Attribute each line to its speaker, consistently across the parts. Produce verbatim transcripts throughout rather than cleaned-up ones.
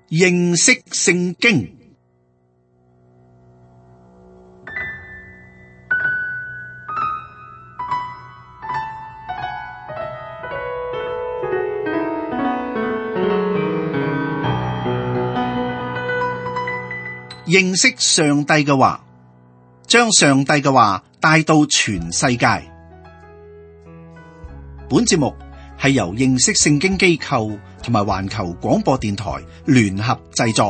Speaker 1: 認識聖經。認識上帝嘅話，將上帝嘅話帶到全世界。本節目係由認識聖經機構同埋環球廣播電台聯合製作。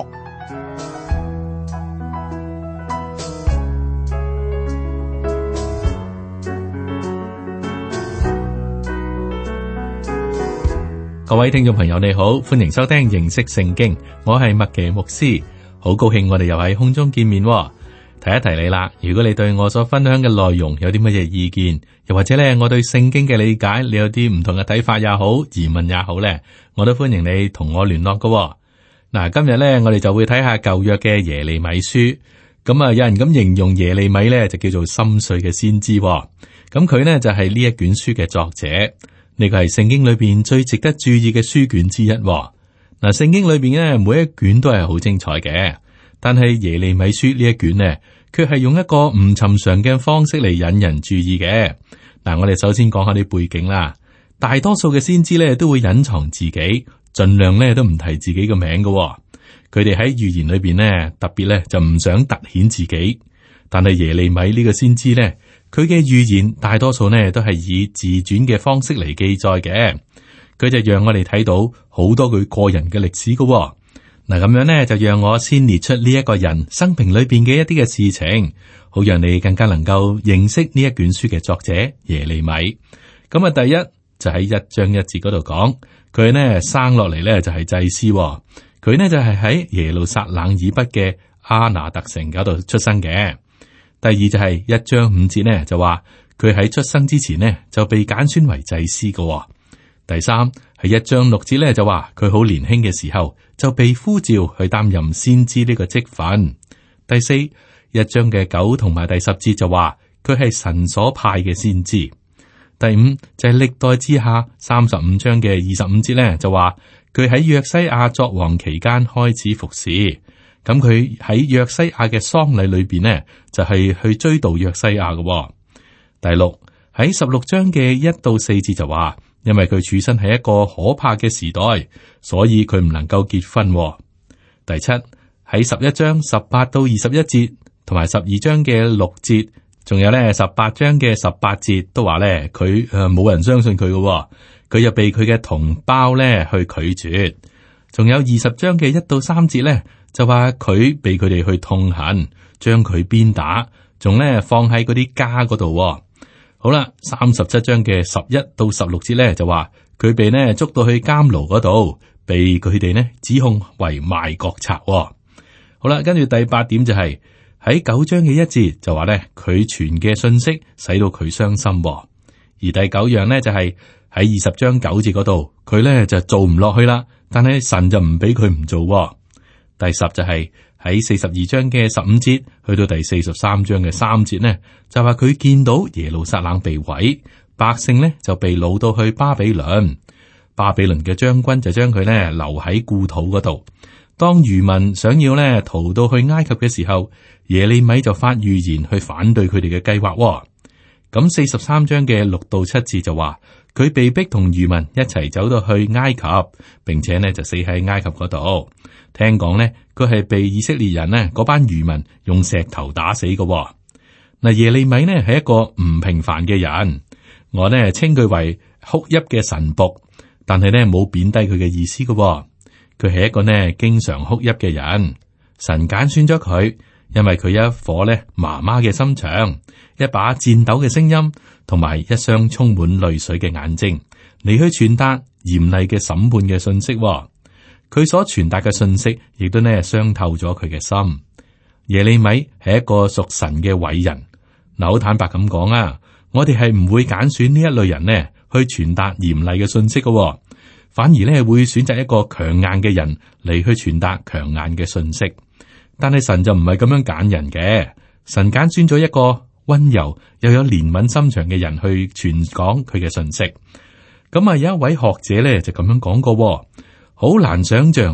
Speaker 2: 各位聽眾朋友，你好，歡迎收聽認識聖經，我係麥奇牧師。好高興我哋又喺空中見面，提一提你啦。如果你對我所分享嘅內容有啲乜嘢意見，又或者咧我對聖經嘅理解，你有啲唔同嘅睇法也好，疑問也好咧，我都歡迎你同我聯絡㗎。嗱，今日咧我哋就會睇下舊約嘅耶利米書。咁啊，有人咁形容耶利米咧，就叫做心碎嘅先知。咁佢呢就係呢一卷書嘅作者，呢個係聖經裏邊最值得注意嘅書卷之一。嗱，聖經裏邊咧每一卷都係好精彩嘅，但係耶利米書呢一卷呢，卻係用一個唔尋常嘅方式嚟引人注意嘅。嗱，我哋首先講下啲背景啦。大多數嘅先知咧都會隱藏自己，盡量咧都唔提自己嘅名嘅。佢哋喺預言裏邊呢，特別咧就唔想突顯自己。但係耶利米呢個先知咧，佢嘅預言大多數呢都係以自傳嘅方式嚟記載嘅。佢就讓我哋睇到好多佢個人嘅歷史㗎喎。嗱，咁樣呢，就讓我先列出呢一個人生平裏邊嘅一啲嘅事情，好讓你更加能夠認識呢一卷書嘅作者耶利米。咁啊，第一就喺一章一節嗰度講，佢呢生落嚟呢就係祭司喎，佢呢就係喺耶路撒冷以北嘅阿拿特城嗰度出生嘅。第二就係一章五節呢就話佢喺出生之前呢就被揀選為祭司㗎喎。第三係一章六節咧，就話佢好年輕嘅時候就被呼召去擔任先知呢個職分。第四一章嘅九同埋第十節就話佢係神所派嘅先知。第五就係歷代志下三十五章嘅二十五節咧，就話佢喺約西亞作王期間開始服侍。咁佢喺約西亞嘅喪禮裏邊呢，就係去追悼約西亞嘅。第六喺十六章嘅一到四節就話，因為佢處身喺一個可怕嘅時代，所以佢唔能夠結婚。第七喺十一章十八到二十一節，同埋十二章嘅六節，仲有咧十八章嘅十八節都話咧佢誒冇人相信佢嘅，佢又被佢嘅同胞咧去拒絕。仲有二十章嘅一到三節咧，就話佢被佢哋去痛恨，將佢鞭打，仲咧放喺嗰啲家嗰度。好啦，三十七章嘅十一到十六節咧，就話佢被呢捉到去監牢嗰度，被佢哋呢指控為賣國賊。好啦，跟住第八點就係、是、喺九章嘅一節就話咧佢傳嘅信息使到佢傷心。而第九樣呢，就係喺二十章九節嗰度，佢咧就做唔落去啦，但係神就唔俾佢唔做。第十就係、是。喺四十二章嘅十五節去到第四十三章嘅三節呢，就話佢見到耶路撒冷被毀，百姓呢就被擄到去巴比倫，巴比倫嘅將軍就將佢呢留喺故土嗰度。當餘民想要呢逃到去埃及嘅時候，耶利米就發預言去反對佢哋嘅計劃。咁四十三章嘅六到七節就話佢被逼同餘民一齊走到去埃及，並且呢就死喺埃及嗰度。聽講呢，佢係被以色列人呢嗰班餘民用石頭打死嘅。嗱，耶利米呢係一個唔平凡嘅人，我呢稱佢為哭泣嘅神僕，但係呢冇貶低佢嘅意思嘅。佢係一個呢經常哭泣嘅人，神揀選咗佢，因為佢有一顆呢媽媽嘅心腸，一把顫抖嘅聲音，同埋一雙充滿淚水嘅眼睛，嚟去傳達嚴厲嘅審判嘅信息。佢所傳達嘅信息，亦都呢傷透咗佢嘅心。耶利米係一個屬神嘅偉人。嗱，好坦白咁講啊，我哋係唔會揀選呢一類人呢去傳達嚴厲嘅信息嘅，反而呢會選擇一個強硬嘅人嚟去傳達強硬嘅信息。但係神就唔係咁樣揀人嘅，神揀選咗一個溫柔又有憐憫心腸嘅人去傳講佢嘅信息。咁啊，有一位學者咧就咁樣講過，好難想象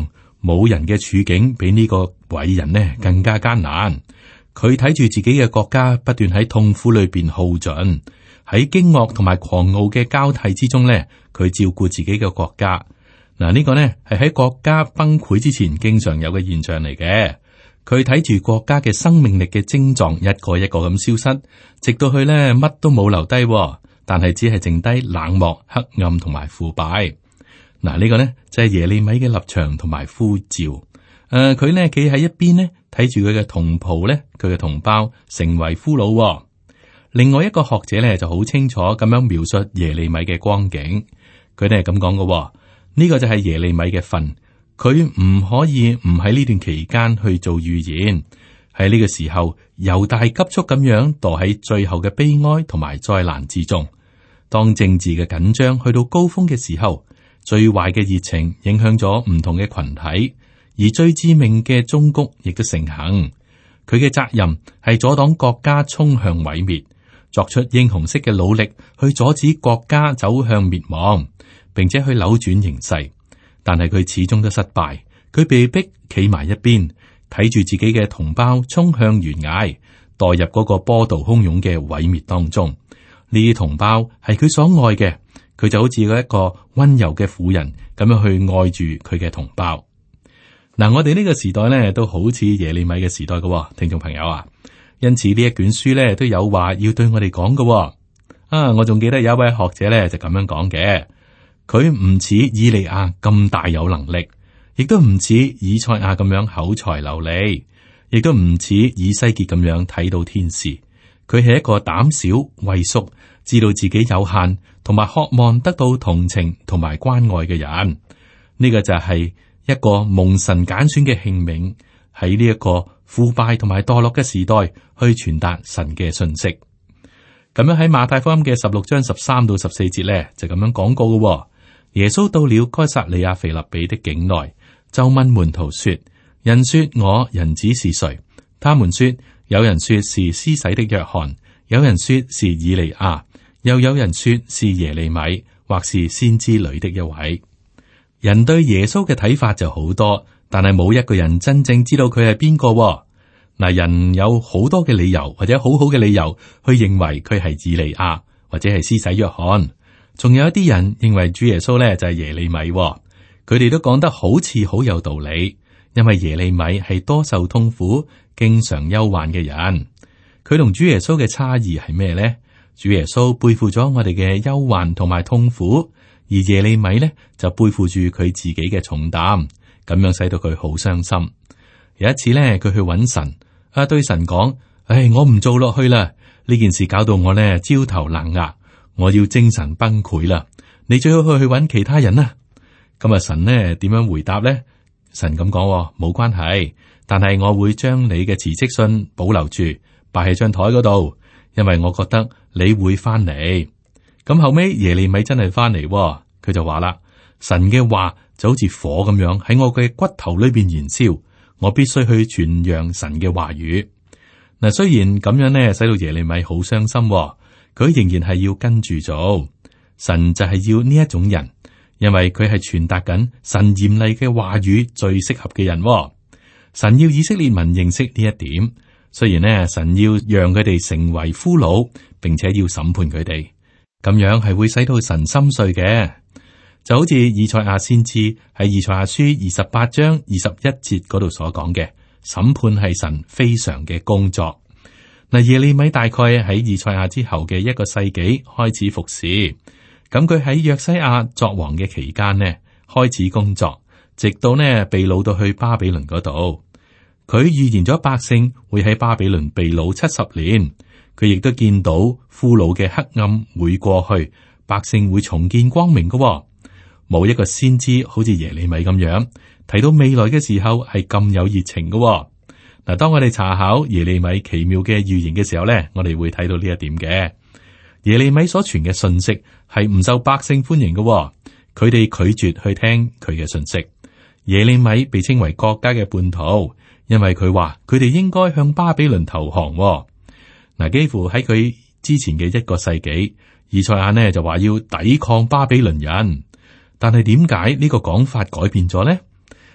Speaker 2: 冇人嘅處境比呢個偉人呢更加艱難。佢睇住自己嘅國家不斷喺痛苦裏邊耗盡，喺驚愕同埋狂傲嘅交替之中呢，佢照顧自己嘅國家。嗱，呢個呢係喺國家崩潰之前經常有嘅現象嚟嘅。佢睇住國家嘅生命力嘅症狀一個一個咁消失，直到佢呢乜都冇留低，但係只係剩低冷漠、黑暗同埋腐敗。嗱，呢個呢就係耶利米嘅立場同埋呼召。誒、呃，佢呢企喺一邊呢，睇住佢嘅同袍呢，佢嘅同胞成為俘虜。另外一個學者呢就好清楚咁樣描述耶利米嘅光景。佢哋係咁講嘅，呢個就係耶利米嘅份。佢唔可以唔喺呢段期間去做預言。喺呢個時候，猶大急速咁樣墮喺最後嘅悲哀同埋災難之中。當政治嘅緊張去到高峰嘅時候，最壞嘅熱情影響咗唔同嘅群體，而最致命嘅忠告亦都盛行。佢嘅責任係阻擋國家衝向毀滅，作出英雄式嘅努力去阻止國家走向滅亡，並且去扭轉形勢。但係佢始終都失敗，佢被逼企埋一邊，睇住自己嘅同胞衝向懸崖，墮入嗰個波濤洶湧嘅毀滅當中。呢啲同胞係佢所愛嘅，佢就好似一個溫柔嘅婦人咁樣去愛住佢嘅同胞。嗱，我哋呢個時代呢，都好似耶利米嘅時代嘅，聽眾朋友啊，因此呢一卷書呢，都有話要對我哋講嘅。啊，我仲記得有一位學者呢，就咁樣講嘅。佢唔似以利亞咁大有能力，亦都唔似以賽亞咁樣口才流利，亦都唔似以西結咁樣睇到天使。佢係一個膽小畏縮，知道自己有限，同埋渴望得到同情同埋關愛嘅人。呢個就係一個蒙神揀選嘅器皿，喺呢一個腐敗同埋墮落嘅時代去傳達神嘅信息。咁樣喺馬太福音嘅十六章十三到十四節咧，就咁樣講過嘅。耶穌到了該撒利亞腓立比的境內，就問門徒說：人說我人子是誰？他們說：有人說是施洗的約翰，有人說是以利亞，又有人說是耶利米，或是先知裏的一位。人對耶穌嘅睇法就好多，但係冇一個人真正知道佢係邊個。嗱，人有好多嘅理由或者好好嘅理由去認為佢係以利亞或者係施洗約翰。仲有一啲人認為主耶穌咧就係耶利米，佢哋都講得好似好有道理，因為耶利米係多受痛苦、經常憂患嘅人。佢同主耶穌嘅差異係咩呢？主耶穌背負咗我哋嘅憂患同埋痛苦，而耶利米呢就背負住佢自己嘅重擔，咁樣使到佢好傷心。有一次呢，佢去揾神，啊對神講：唉，我唔做落去啦，呢件事搞到我呢焦頭爛額。我要精神崩潰啦！你最好去去揾其他人啦。咁啊，神呢點樣回答呢？神咁講：冇關係，但係我會將你嘅辭職信保留住，擺喺張台嗰度，因為我覺得你會翻嚟。咁後尾耶利米真係翻嚟，佢就話啦：神嘅話就好似火咁樣喺我嘅骨頭裏邊燃燒，我必須去傳揚神嘅話語。嗱，雖然咁樣呢，使到耶利米好傷心。佢仍然係要跟住做，神就係要呢一種人，因為佢係傳達緊神嚴厲嘅話語最適合嘅人。神要以色列民認識呢一點，雖然呢，神要讓佢哋成為俘虜，並且要審判佢哋，咁樣係會使到神心碎嘅。就好似以賽亞先知喺以賽亞書二十八章二十一節嗰度所講嘅，審判係神非常嘅工作。嗱，耶利米大概喺以賽亞之後嘅一個世紀開始服侍，咁佢喺約西亞作王嘅期間呢，開始工作，直到呢被擄到去巴比倫嗰度。佢預言咗百姓會喺巴比倫被擄七十年，佢亦都見到俘虜嘅黑暗會過去，百姓會重見光明嘅。冇一個先知好似耶利米咁樣提到未來嘅時候係咁有熱情嘅。嗱，當我哋查考耶利米奇妙嘅預言嘅時候咧，我哋會睇到呢一點嘅。耶利米所傳嘅信息係唔受百姓歡迎嘅，佢哋拒絕去聽佢嘅信息。耶利米被稱為國家嘅叛徒，因為佢話佢哋應該向巴比倫投降。嗱，幾乎喺佢之前嘅一個世紀，以賽亞呢就話要抵抗巴比倫人，但係點解呢個講法改變咗呢？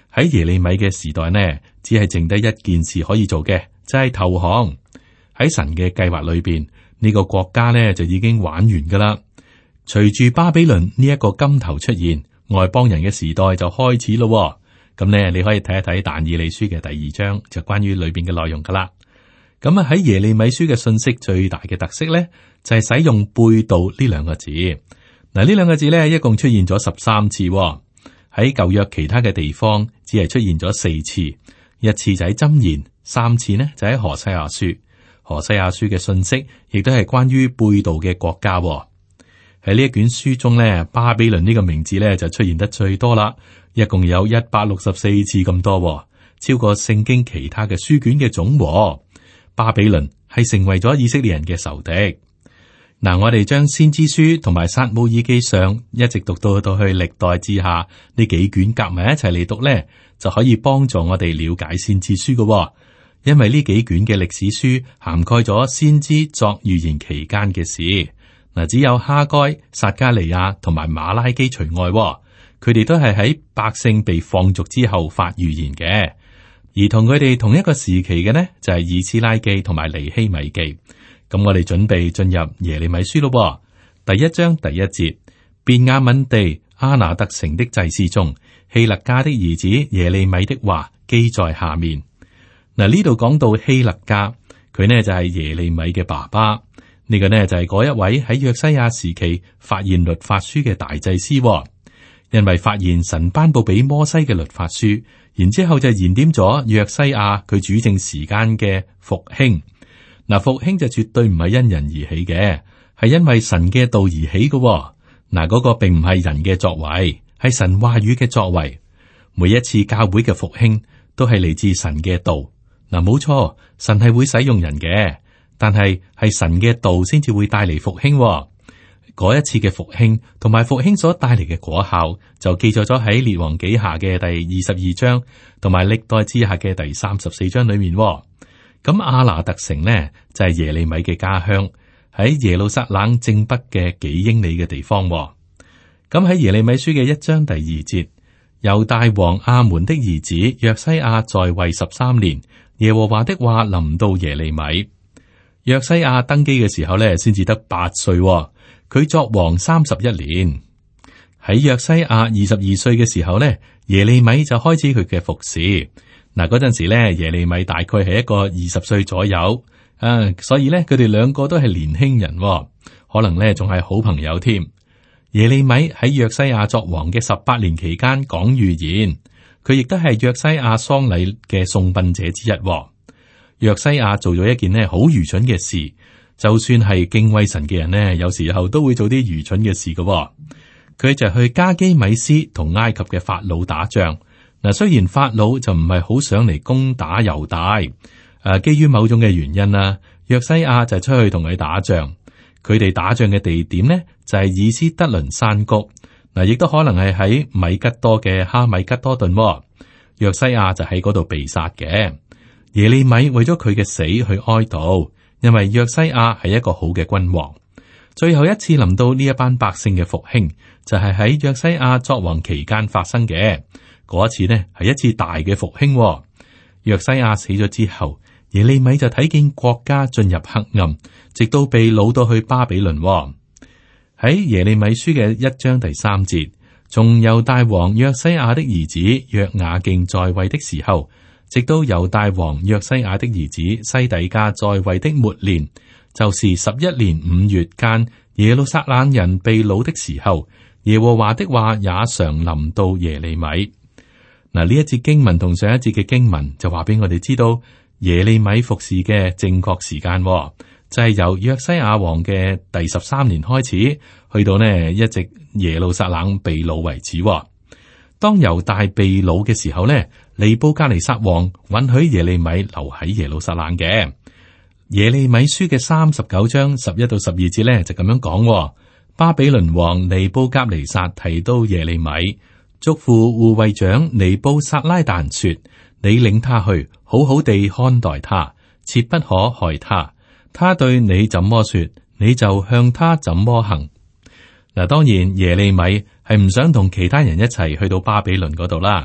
Speaker 2: 喺耶利米嘅時代呢，只係剩低一件事可以做嘅，就係投降。喺神嘅計劃裏邊，呢個國家呢就已經玩完噶啦。隨住巴比倫呢一個金頭出現，外邦人嘅時代就開始咯。咁呢，你可以睇一睇但以理書嘅第二章，就關於裏邊嘅內容噶啦。咁啊喺耶利米書嘅信息最大嘅特色呢，就係使用背道呢兩個字。嗱，呢兩個字呢，一共出現咗十三次。喺舊約其他嘅地方只係出現咗四次，一次就喺箴言，三次呢就喺何西阿書。何西阿書嘅信息亦都係關於背道嘅國家。喺呢一卷書中呢，巴比倫呢個名字呢就出現得最多啦，一共有一百六十四次咁多，超過聖經其他嘅書卷嘅總和。巴比倫係成為咗以色列人嘅仇敵。嗱，我哋將先知書同埋撒母耳記上一直讀到到去歷代志下呢幾卷夾埋一齊嚟讀呢，就可以幫助我哋了解先知書嘅。因為呢幾卷嘅歷史書涵蓋咗先知作預言期間嘅事。嗱，只有哈該、撒迦利亞同埋馬拉基除外，佢哋都係喺百姓被放逐之後發預言嘅。而同佢哋同一個時期嘅呢，就係以斯拉記同埋尼希米記。咁我哋準備進入耶利米書咯。第一章第一節，便雅憫地阿拿特城的祭司中，希勒家的兒子耶利米的話記在下面。嗱，呢度講到希勒家，佢呢就係耶利米嘅爸爸。呢個呢就係嗰一位喺約西亞時期發現律法書嘅大祭司。因為發現神頒布俾摩西嘅律法書，然之後就燃點咗約西亞佢主政時間嘅復興。嗱，復興就絕對唔係因人而起嘅，係因為神嘅道而起嘅。嗱，嗰個並唔係人嘅作為，係神話語嘅作為。每一次教會嘅復興都係嚟自神嘅道。嗱，冇錯，神係會使用人嘅，但係係神嘅道先至會帶嚟復興。嗰一次嘅復興同埋復興所帶嚟嘅果效，就記載咗喺列王紀下嘅第二十二章，同埋歷代志下嘅第三十四章裏面。咁阿拿特城呢，就係耶利米嘅家鄉，喺耶路撒冷正北嘅幾英里嘅地方。咁喺耶利米書嘅一章第二節，猶大王亞門的兒子約西亞在位十三年，耶和華的話臨到耶利米。約西亞登基嘅時候呢，先至得八歲，佢作王三十一年。喺約西亞二十二歲嘅時候呢，耶利米就開始佢嘅服侍。嗱，嗰陣時咧，耶利米大概係一個二十歲左右，啊，所以咧，佢哋兩個都係年輕人，可能咧仲係好朋友添。耶利米喺約西亞作王嘅十八年期間講預言，佢亦都係約西亞喪禮嘅送殯者之一。約西亞做咗一件呢好愚蠢嘅事，就算係敬畏神嘅人呢，有時候都會做啲愚蠢嘅事嘅。佢就去加基米斯同埃及嘅法老打仗。嗱，雖然法老就唔係好想嚟攻打猶大，誒、啊，基於某種嘅原因啦，約西亞就出去同佢打仗。佢哋打仗嘅地點呢，就係、是、以斯德倫山谷，嗱、啊，亦都可能係喺米吉多嘅哈米吉多頓、哦。約西亞就喺嗰度被殺嘅。耶利米為咗佢嘅死去哀悼，因為約西亞係一個好嘅君王。最後一次臨到呢一班百姓嘅復興，就係、是、喺約西亞作王期間發生嘅。嗰一次呢，係一次大嘅復興、哦。約西亞死咗之後，耶利米就睇見國家進入黑暗，直到被擄到去巴比倫、哦。喺耶利米書嘅一章第三節，從猶大王約西亞的兒子約雅敬在位的時候，直到猶大王約西亞的兒子西底家在位的末年，就是十一年五月間，耶路撒冷人被擄的時候，耶和華的話也常臨到耶利米。嗱，呢一節經文同上一節嘅經文就話俾我哋知道耶利米服侍嘅正確時間、哦，就係、是、由約西亞王嘅第十三年開始，去到呢一直耶路撒冷被擄為止、哦。當猶大被擄嘅時候呢，尼布甲尼撒王允許耶利米留喺耶路撒冷嘅。耶利米書嘅三十九章十一到十二節呢，就咁樣講、哦：巴比倫王尼布甲尼撒提到耶利米。囑咐護衛長尼布撒拉旦說：你領他去，好好地看待他，切不可害他。他對你怎麼說，你就向他怎麼行。嗱，當然耶利米係唔想同其他人一齊去到巴比倫嗰度啦，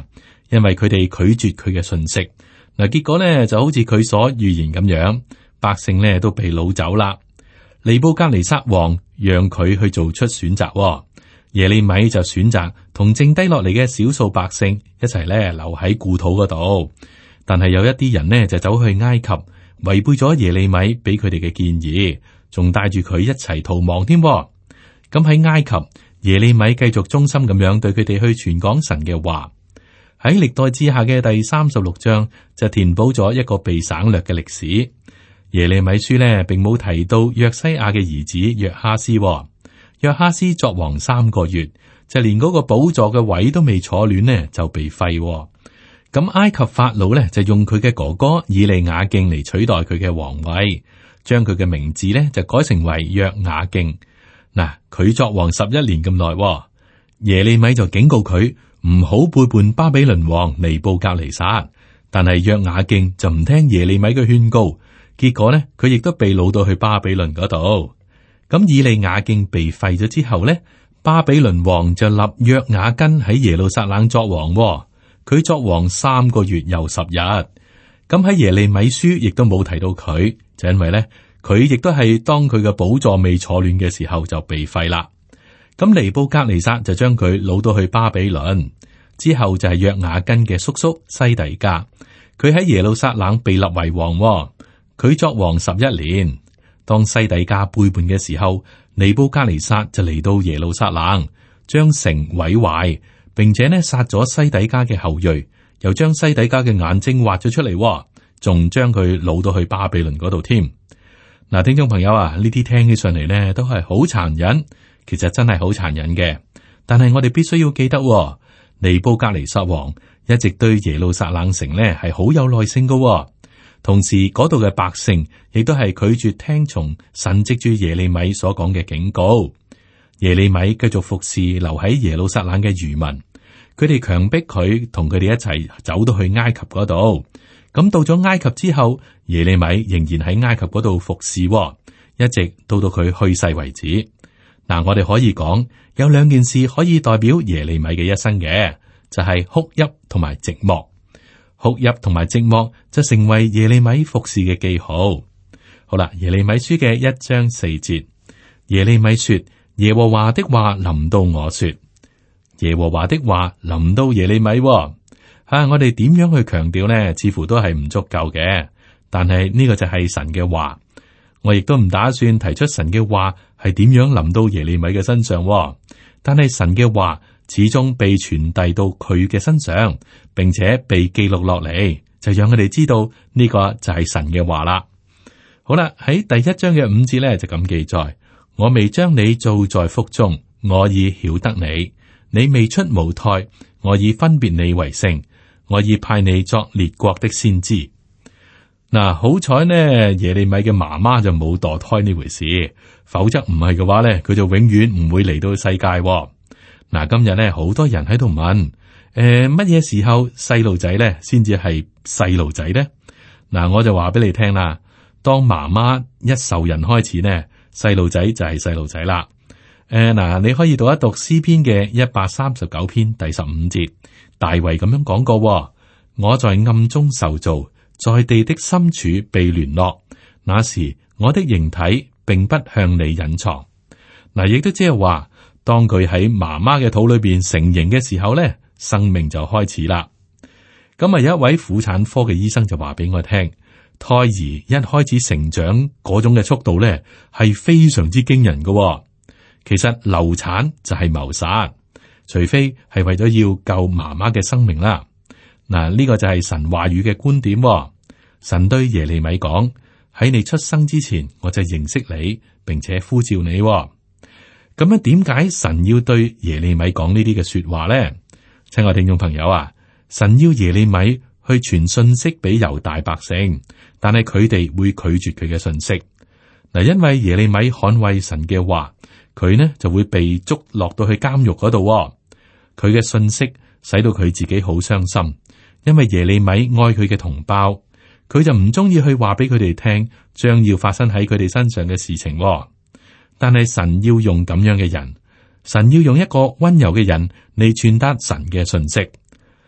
Speaker 2: 因為佢哋拒絕佢嘅訊息。嗱，結果呢就好似佢所預言咁樣，百姓呢都被擄走啦。尼布甲尼撒王讓佢去做出選擇，耶利米就選擇同剩低落嚟嘅少數百姓一齊咧留喺故土嗰度。但係有一啲人呢就走去埃及，違背咗耶利米俾佢哋嘅建議，仲帶住佢一齊逃亡添。咁喺埃及，耶利米繼續忠心咁樣對佢哋去傳講神嘅話。喺歷代志下嘅第三十六章就填補咗一個被省略嘅歷史。耶利米書呢並冇提到約西亞嘅兒子約哈斯。約哈斯作王三個月，就連嗰個寶座嘅位都未坐暖呢，就被廢。咁埃及法老呢，就用佢嘅哥哥以利雅敬嚟取代佢嘅皇位，將佢嘅名字呢，就改成為約雅敬。嗱，佢作王十一年咁耐，耶利米就警告佢唔好背叛巴比倫王尼布甲尼撒，但係約雅敬就唔聽耶利米嘅勸告，結果呢，佢亦都被擄到去巴比倫嗰度。咁以利雅敬被廢咗之後呢，巴比倫王就立約雅斤喺耶路撒冷作王。佢作王三個月又十日。咁喺耶利米書亦都冇提到佢，就因為呢，佢亦都係當佢嘅寶座未坐暖嘅時候就被廢啦。咁尼布甲尼撒就將佢擄到去巴比倫，之後就係約雅斤嘅叔叔西底家，佢喺耶路撒冷被立為王。佢作王十一年。當西底家背叛嘅時候，尼布甲尼撒就嚟到耶路撒冷，將城毀壞，並且呢殺咗西底家嘅後裔，又將西底家嘅眼睛挖咗出嚟，仲將佢擄到去巴比倫嗰度添。嗱，聽眾朋友啊，呢啲聽起上嚟呢都係好殘忍，其實真係好殘忍嘅。但係我哋必須要記得，尼布甲尼撒王一直對耶路撒冷城呢係好有耐性噶。同時，嗰度嘅百姓亦都係拒絕聽從神藉住耶利米所講嘅警告。耶利米繼續服侍留喺耶路撒冷嘅餘民，佢哋強迫佢同佢哋一齊走到去埃及嗰度。咁到咗埃及之後，耶利米仍然喺埃及嗰度服侍，一直到到佢去世為止。嗱，我哋可以講有兩件事可以代表耶利米嘅一生嘅，就係哭泣同埋寂寞。哭泣同埋寂寞就成為耶利米服侍嘅記號。好啦，耶利米書嘅一章四節，耶利米說：耶和華的話臨到我說，耶和華的話臨到耶利米。啊，我哋點樣去強調呢？似乎都係唔足夠嘅。但係呢個就係神嘅話，我亦都唔打算提出神嘅話係點樣臨到耶利米嘅身上。但係神嘅話始終被傳遞到佢嘅身上，並且被記錄落嚟，就讓佢哋知道呢個就係神嘅話啦。好啦，喺第一章嘅五節咧就咁記載：我未將你造在腹中，我已曉得你；你未出母胎，我已分別你為聖，我已派你作列國的先知。嗱，好彩呢，耶利米嘅媽媽就冇墮胎呢回事，否則唔係嘅話咧，佢就永遠唔會嚟到世界。嗱，今日咧好多人喺度問，誒，乜嘢時候細路仔咧先至係細路仔咧？嗱，我就話俾你聽啦，當媽媽一受孕開始呢，細路仔就係細路仔啦。誒，嗱，你可以讀一讀詩篇嘅一百三十九篇第十五節，大衛咁樣講過：我在暗中受造，在地的深處被聯絡，那時我的形體並不向你隱藏。嗱，亦都即係話，當佢喺媽媽嘅肚裏邊成形嘅時候咧，生命就開始啦。咁啊，有一位婦產科嘅醫生就話俾我聽，胎兒一開始成長嗰種嘅速度咧，係非常之驚人嘅。其實流產就係謀殺，除非係為咗要救媽媽嘅生命啦。嗱，呢個就係神話語嘅觀點。神對耶利米講：喺你出生之前，我就認識你，並且呼召你。咁樣點解神要對耶利米講呢啲嘅說話咧？親愛聽眾朋友啊，神要耶利米去傳信息俾猶大百姓，但係佢哋會拒絕佢嘅信息。嗱，因為耶利米捍衛神嘅話，佢呢就會被捉落到去監獄嗰度。佢嘅信息使到佢自己好傷心，因為耶利米愛佢嘅同胞，佢就唔中意去話俾佢哋聽將要發生喺佢哋身上嘅事情。但係神要用咁樣嘅人，神要用一個溫柔嘅人嚟傳達神嘅信息。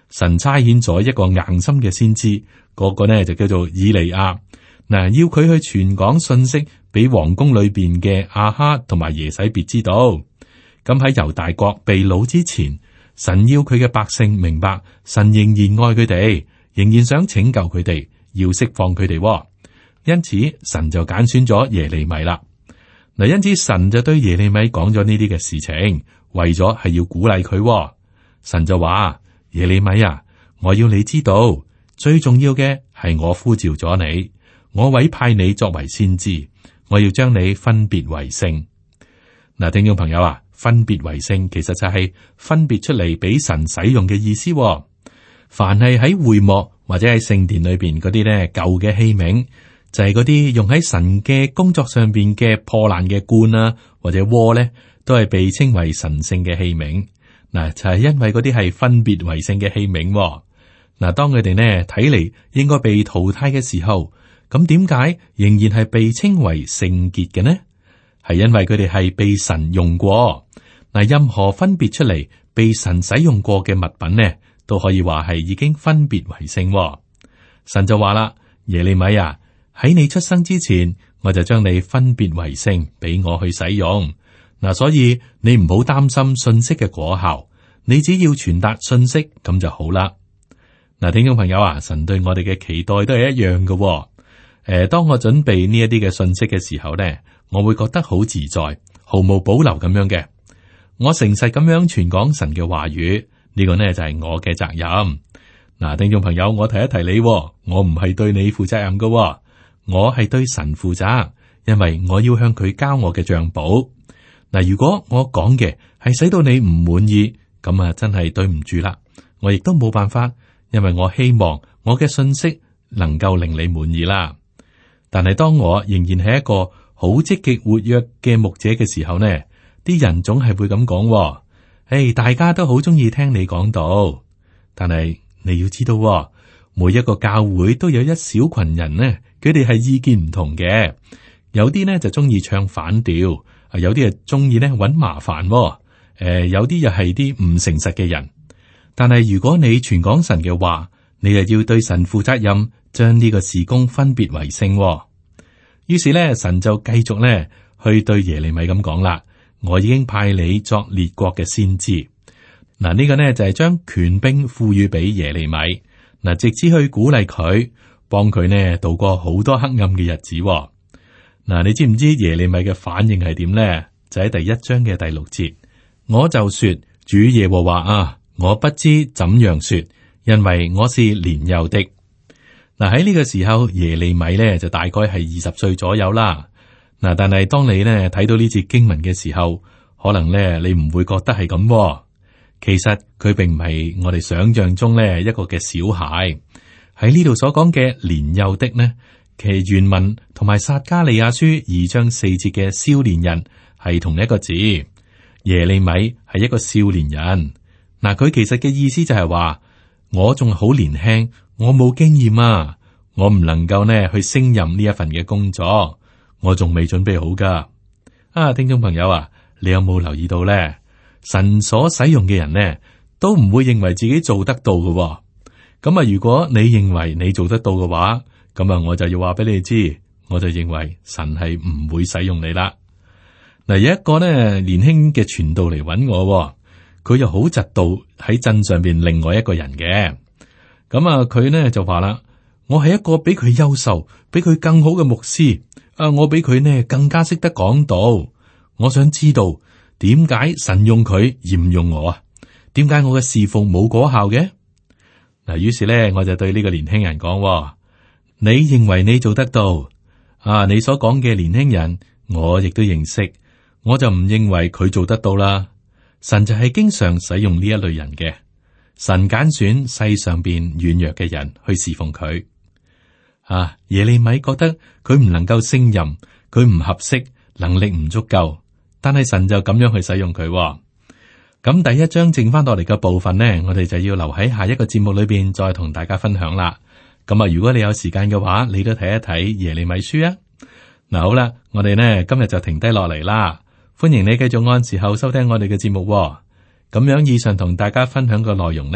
Speaker 2: 神差遣咗一個硬心嘅先知，嗰個呢就叫做以利亞。嗱，要佢去傳講信息俾皇宮裏邊嘅亞哈同埋耶洗別知道。咁喺猶大國被擄之前，神要佢嘅百姓明白，神仍然愛佢哋，仍然想拯救佢哋，要釋放佢哋。因此，神就揀選咗耶利米啦。嗱，因此神就對耶利米講咗呢啲嘅事情，為咗係要鼓勵佢。神就話：耶利米啊，我要你知道，最重要嘅係我呼召咗你，我委派你作為先知，我要將你分別為聖。嗱，聽眾朋友啊，分別為聖其實就係分別出嚟俾神使用嘅意思。凡係喺會幕或者喺聖殿裏邊嗰啲咧舊嘅器皿，就係嗰啲用喺神嘅工作上邊嘅破爛嘅罐啊或者鍋咧，都係被稱為神聖嘅器皿。嗱，就係因為嗰啲係分別為聖嘅器皿。嗱，當佢哋呢睇嚟應該被淘汰嘅時候，咁點解仍然係被稱為聖潔嘅呢？係因為佢哋係被神用過。嗱，任何分別出嚟被神使用過嘅物品呢，都可以話係已經分別為聖。神就話啦：耶利米啊，喺你出生之前，我就將你分別為聖，俾我去使用。嗱，所以你唔好擔心信息嘅果效，你只要傳達信息咁就好啦。嗱，聽眾朋友啊，神對我哋嘅期待都係一樣嘅。誒、呃，當我準備呢一啲嘅信息嘅時候咧，我會覺得好自在，毫無保留咁樣嘅。我誠實咁樣傳講神嘅話語，呢個呢就係我嘅責任。嗱，聽眾朋友，我提一提你，我唔係對你負責任嘅，我係對神負責，因為我要向佢交我嘅賬簿。嗱，如果我講嘅係使到你唔滿意，咁啊真係對唔住啦。我亦都冇辦法，因為我希望我嘅信息能夠令你滿意啦。但係當我仍然係一個好積極活躍嘅牧者嘅時候呢，啲人總係會咁講，誒，大家都好中意聽你講道。但係你要知道，每一個教會都有一小群人呢，佢哋係意見唔同嘅，有啲呢就中意唱反調。啊，有啲係中意咧搵麻煩，誒、呃，有啲又係啲唔誠實嘅人。但係如果你傳講神嘅話，你就要對神負責任，將呢個事工分別為聖。於是咧，神就繼續咧去對耶利米咁講啦：我已經派你作列國嘅先知。嗱，呢個呢就係將權柄賦予俾耶利米，嗱，直至去鼓勵佢，幫佢呢度過好多黑暗嘅日子。嗱，你知唔知耶利米嘅反應係點呢？就喺第一章嘅第六節，我就說：主耶和華啊，我不知怎樣說，因為我是年幼的。嗱，喺呢個時候，耶利米咧就大概係二十歲左右啦。嗱，但係當你咧睇到呢節經文嘅時候，可能咧你唔會覺得係咁。其實佢並唔係我哋想象中咧一個嘅小孩。喺呢度所講嘅年幼的呢，其原文同埋撒迦利亞書二章四節嘅少年人係同一個字。耶利米係一個少年人。嗱，佢其實嘅意思就係話，我仲好年輕，我冇經驗啊，我唔能夠呢去勝任呢一份嘅工作，我仲未準備好噶。啊，聽眾朋友啊，你有冇留意到咧？神所使用嘅人呢，都唔會認為自己做得到嘅。咁啊，如果你認為你做得到嘅話，咁啊，我就要話俾你知，我就認為神係唔會使用你啦。嗱，有一個呢年輕嘅傳道嚟揾我，佢又好嫉妒喺鎮上邊另外一個人嘅。咁啊，佢呢就話啦：我係一個比佢優秀、比佢更好嘅牧師。啊，我比佢呢更加識得講道。我想知道點解神用佢而唔用我啊？點解我嘅侍奉冇果效嘅？嗱，於是咧，我就對呢個年輕人講：你認為你做得到啊？你所講嘅年輕人，我亦都認識，我就唔認為佢做得到啦。神就係經常使用呢一類人嘅，神揀選世上邊軟弱嘅人去侍奉佢。啊，耶利米覺得佢唔能夠勝任，佢唔合適，能力唔足夠，但係神就咁樣去使用佢。咁第一章剩翻落嚟嘅部分呢，我哋就要留喺下一個節目裏邊再同大家分享啦。咁啊，如果你有時間嘅話，你都睇一睇耶利米書啊。嗱，好啦，我哋呢今日就停低落嚟啦。歡迎你繼續按時候收聽我哋嘅節目。咁樣以上同大家分享嘅內容呢，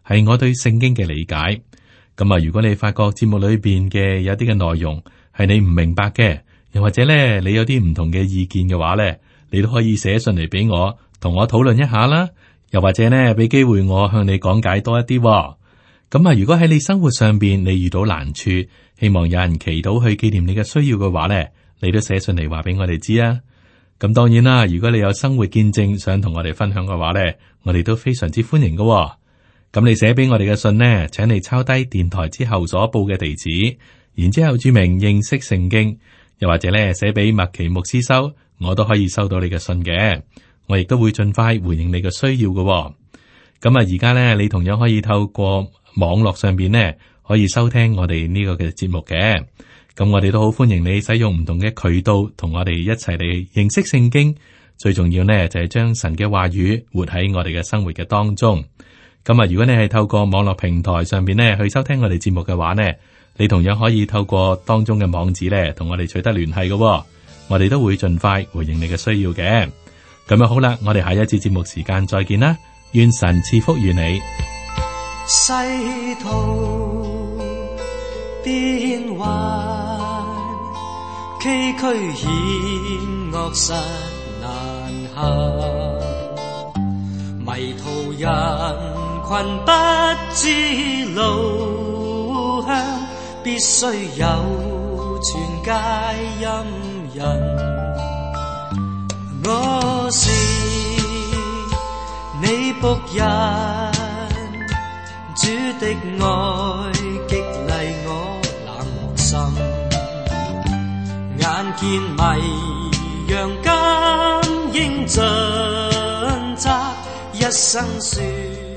Speaker 2: 係我對聖經嘅理解。咁啊，如果你發覺節目裏邊嘅有啲嘅內容係你唔明白嘅，又或者咧你有啲唔同嘅意見嘅話咧，你都可以寫信嚟俾我，同我討論一下啦。又或者咧俾機會我向你講解多一啲。咁啊，如果喺你生活上邊你遇到難處，希望有人祈禱去紀念你嘅需要嘅話咧，你都寫信嚟話俾我哋知啊。咁當然啦，如果你有生活見證想同我哋分享嘅話咧，我哋都非常之歡迎嘅。咁你寫俾我哋嘅信呢，請你抄低電台之後所報嘅地址，然之後注明認識聖經，又或者咧寫俾麥奇牧師收，我都可以收到你嘅信嘅。我亦都會盡快回應你嘅需要嘅。咁啊，而家咧你同樣可以透過網絡上邊呢，可以收聽我哋呢個嘅節目嘅。咁我哋都好歡迎你使用唔同嘅渠道，同我哋一齊嚟認識聖經。最重要呢，就係將神嘅話語活喺我哋嘅生活嘅當中。咁啊，如果你係透過網絡平台上邊咧去收聽我哋節目嘅話呢，你同樣可以透過當中嘅網址咧同我哋取得聯繫嘅。我哋都會盡快回應你嘅需要嘅。咁啊好啦，我哋下一次節目時間再見啦，願神賜福於你。
Speaker 3: 世途變幻，崎嶇險惡實難行，迷途人群不知路向，必須有全戒陰人。我是你僕人，主的愛激勵我冷漠心，眼見迷羊更應盡責，一生說